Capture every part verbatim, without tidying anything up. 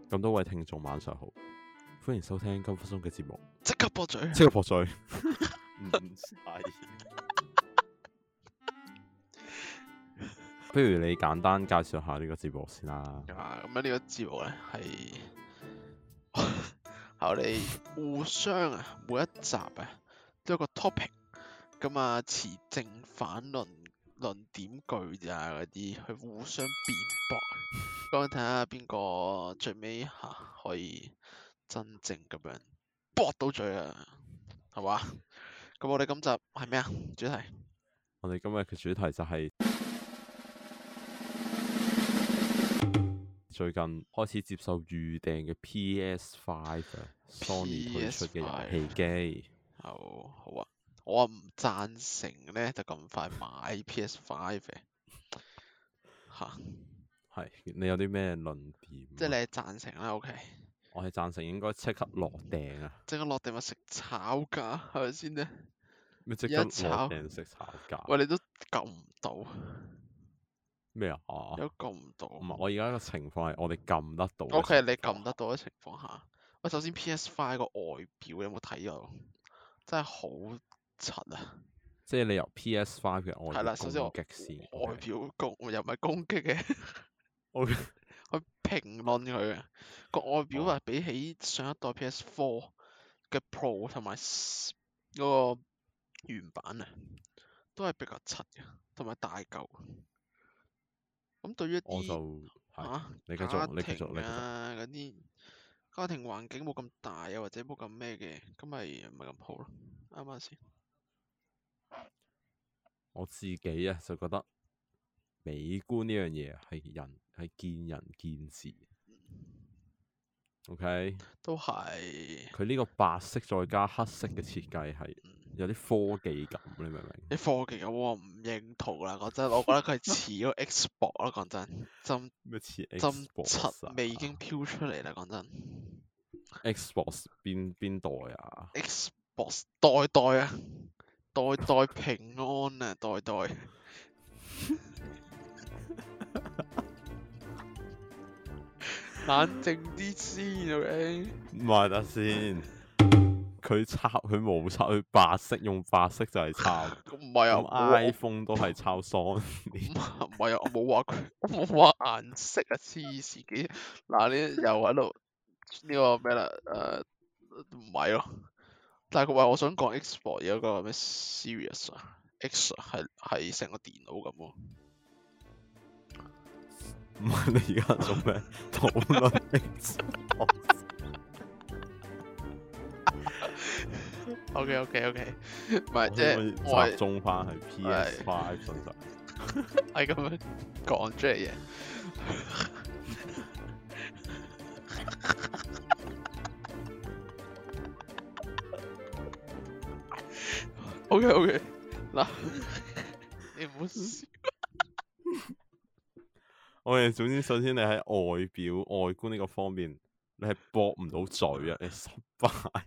咁多位聽眾晚上好，歡迎收聽金福松嘅節目， 即刻駁嘴， 即刻駁嘴。唔係，不如你簡單介紹下呢個節目先啦。 啊，咁樣呢個節目咧係係我哋互相啊，每一集啊都有個 topic，咁啊持正反論論點句啊嗰啲去互相辯駁，咁睇下邊個最尾嚇可以真正咁樣駁到嘴啊，係嘛？咁我哋今集係咩啊？主題我哋今日嘅主題就係最近開始接受預訂嘅 P S 五啊 ，Sony 推出嘅遊戲機。 好好啊，我唔贊成咧就咁快買 P S 五嘅嚇， 係，你有啲咩論點？ 即係你係贊成啦 ，OK？ 我係贊成應該即刻落訂啊！ 即刻落定咪食炒價係咪先咧？ 咩即刻一炒落訂食炒價？ 喂，你都撳唔到， 咩啊？ 有撳唔到。 唔係，我而家個情況係我哋撳得到嘅情況。 OK，你撳得到嘅情況下，喂，首先 P S 五個外表你有冇睇過？真係好柒啊！ 即係你由 P S 五嘅外表係啦，首先我攻擊先。 外表攻又唔係攻擊嘅。 OK， 去評論佢嘅個外表啊，比起上一代 P S 四嘅 Pro 同埋嗰個原版啊，都係比較柒嘅，同埋大嚿。咁對於一我就啲係、 啊你繼續家你繼續庭啊嗰啲家庭環境冇咁大啊，或者冇咁咩嘅，咁咪唔係咁好咯。啱唔啱先？ 我自己啊就覺得美觀呢樣嘢係人係見仁見智。OK， 都係佢呢個白色再加黑色嘅設計係有啲科技感，你明唔明？ 啲科技嘅我唔認同啦，講真，我覺得佢係似嗰個 Xbox 啦，講真，針咩似針 Xbox 七啊味已經飄出嚟啦，講真。 ？Xbox 邊邊代啊？ Xbox 代代啊，代代平安啊，代代。冷靜啲先，OK？ 唔係得先，佢抄佢冇抄，佢白色用白色就係抄。 咁唔係啊， 咁我 iPhone 都係抄 Sony。 唔係啊，我冇話佢，我冇話顏色啊，黐線嘅。嗱，你又喺度呢個咩啦？誒，唔係咯。但係佢話我想講 Xbox 有個咩 Series 啊 ，X 係係成個電腦咁喎。 唔係你而家做咩討論 Xbox？ OK OK OK，唔係即我係我係可以集中翻係 P S 五身上。 係咁樣講出嚟嘅。OK OK，嗱，你唔好笑。 我哋總之首先你喺外表外觀呢個方面，你係駁唔到嘴啊，你失敗。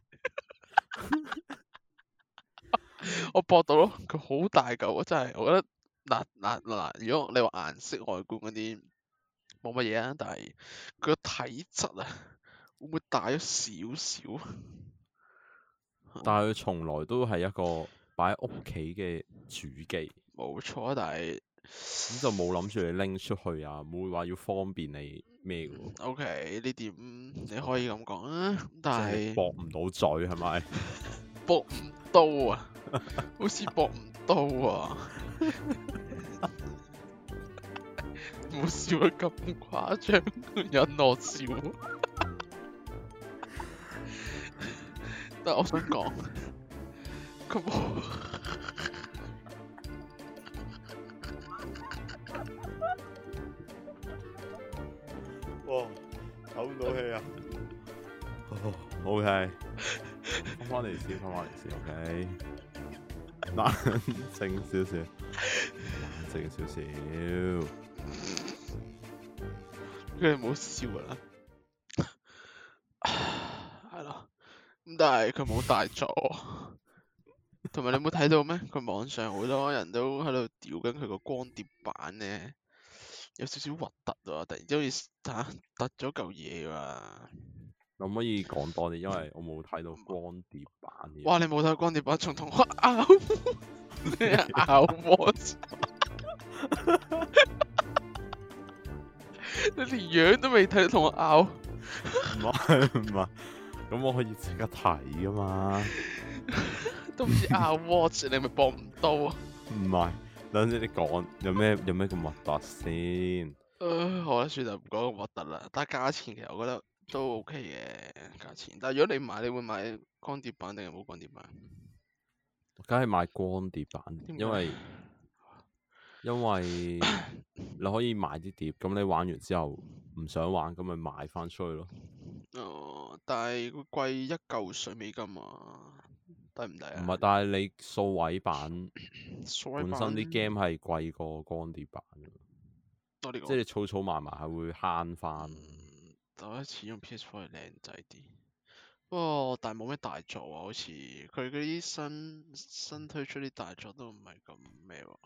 我駁到咯，佢好大嚿啊，真係，我覺得嗱嗱嗱，如果你話顏色外觀嗰啲冇乜嘢啊，但係佢個體質啊，會唔會大咗少少啊？ 但係佢從來都係一個擺喺屋企嘅主機， 冇錯啊，但係咁就冇諗住你拎出去啊，冇話要方便你咩嘅喎。 OK 呢點你可以咁講啊，但係駁唔到嘴係咪？ 駁唔到啊，好似駁唔到啊，冇笑得咁誇張，引我笑。但係我想講，佢冇。 哇，唞唔到氣啊！OK，翻返嚟先，翻返嚟先，OK，冷靜少少，冷靜少少。 佢哋冇笑啦，係咯。咁但係佢冇大咗，同埋你有冇睇到咩？佢網上好多人都喺度屌緊佢個光碟版咧， 有少少核突啊！突然之間好似嚇突咗嚿嘢啊！ 可唔可以講多啲？因為我冇睇到光碟版嘅。 哇！你冇睇光碟版，仲同我拗咩拗我？你連樣都未睇，同我拗？ 唔係唔係，咁我可以即刻睇噶嘛？ 都唔知拗 watch，你咪播唔到啊？ 唔係，等陣你講有咩有咩咁核突先？ 誒，好啦，算啦，唔講咁核突啦。但係價錢其實我覺得都 OK 嘅價錢。但係如果你買，你會買光碟版定係冇光碟版？ 梗係買光碟版， 點解因為因為你可以買啲碟，咁你玩完之後唔想玩，咁咪賣翻出去咯。 哦，但係佢貴一嚿水美金啊，抵唔抵啊？ 唔係，但係你數位版數位版本身啲 game 係貴過光碟版嘅， 我哋講即係你儲儲埋埋係會慳翻。 嗯，第一次用 P S 四係靚仔啲，不過但係冇咩大作啊，好似佢嗰啲新新推出啲大作都唔係咁咩喎，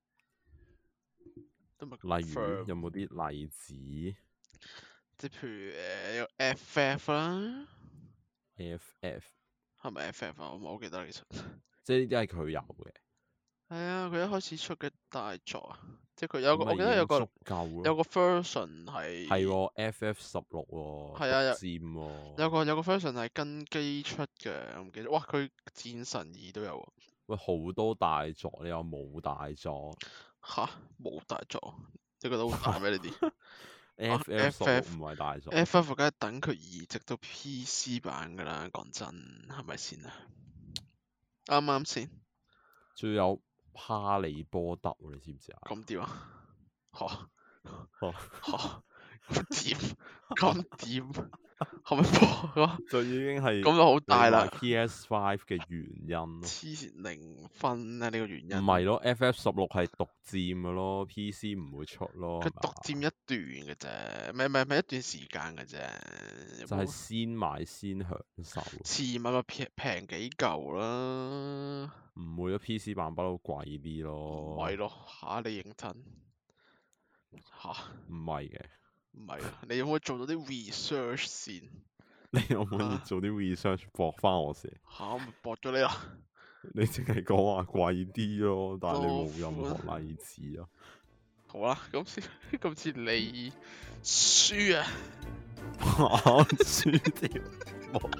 都唔係咁例如 firm 有冇啲例子即係譬如誒有 F F 啦， ？F F 係咪 F F 啊？我唔係好記得其實。 即係呢啲係佢有嘅， 係啊，佢一開始出嘅大作啊，即係佢有個， 咁我記得有個咪已經足夠咯。 有個 version 係係喎，F F 十六喎， 係啊有獨佔喎。 有個有個 version 係跟機出嘅，我唔記得。哇，佢戰神二都有喎。 喂，好多大作，你又冇大作吓，冇大作，你覺得好大咩？呢啲 ？F F 十六唔係大作。 F F 梗係等佢移植到 P C 版噶啦，講真係咪先啊？啱啱先？ 仲有哈利波特喎，你知唔知啊？ 咁點啊？吓哦吓咁點？咁點？係咪播啊？ 就已經係咁就好大啦。 P S 五嘅原因咯。 黐線零分啊！呢個原因唔係咯，F F 十六係獨佔嘅咯，P C 唔會出咯。 佢係嘛獨佔一段嘅啫，唔係唔係唔係一段時間嘅啫。 就係先買先享受。 遲買咪平平幾嚿啦。 唔會咯，P C 版不嬲貴啲唔咯。 係咯，嚇你認真嚇？ 唔係嘅， 唔係啊！你有冇做到啲 research 先？ 你可唔可以啊做啲 research 駁翻我先？ 嚇，我咪駁咗你啦。 你淨係講話貴啲咯，但係你多冇任款何例子啊。 好啦，今次今次你輸啊！ 我輸條冇，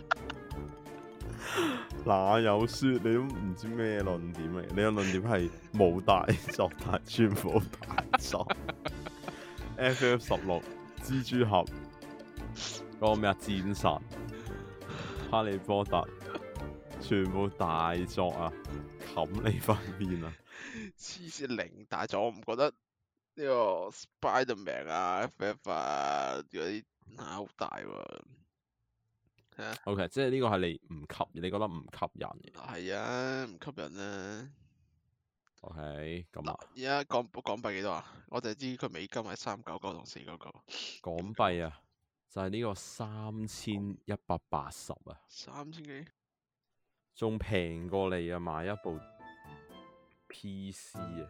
哪有輸？你都唔知咩論點嚟？你個論點係冇大作，但係全部大作。F F 十六、蜘蛛俠、嗰個咩啊戰神、哈利波特，全部大作啊！冚你塊面啊！ 黐線零大作，我唔覺得呢個 Spiderman 啊、F F 啊嗰啲嚇好大喎。係啊， OK，即係呢個係你唔吸，你覺得唔吸引嘅。 係啊，唔吸引啊。 OK，咁嗱， 啊， 而家港港幣幾多啊？我就係知佢美金係三九九同四九九。 港幣啊，就係呢個三千一百八十啊， 三千幾？ 仲平過你啊買一部 P C 啊！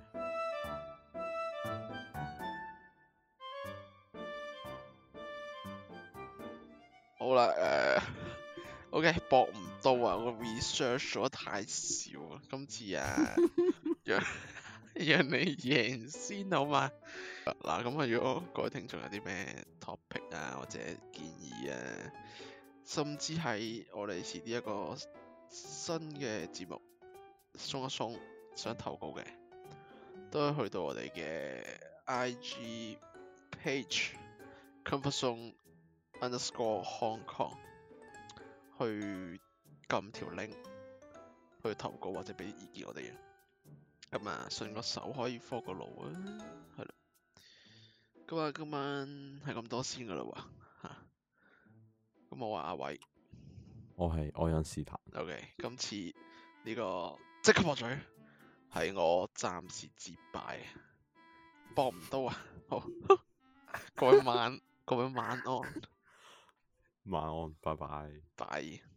好啦，誒、OK，搏唔到啊！我 research 咗得太少啊，今次啊，讓讓你贏先好嘛？嗱，咁啊，如果各位聽眾有啲咩 topic 啊，或者建議啊，甚至係我哋遲啲一個新嘅節目鬆一鬆想投稿嘅，都可以去到我哋嘅 I G page comfort zone underscore Hong Kong 去撳條 link 去投稿或者俾啲意見我哋嘅。咁啊，順個手可以 follow 個路啊，係啦。咁啊，今晚係咁多先噶啦喎嚇。咁我話阿偉， 我係愛因斯坦。 OK，今次呢個即刻駁嘴係我暫時接敗，駁唔到啊！好，各位晚各位晚安， 晚安，拜拜。 拜。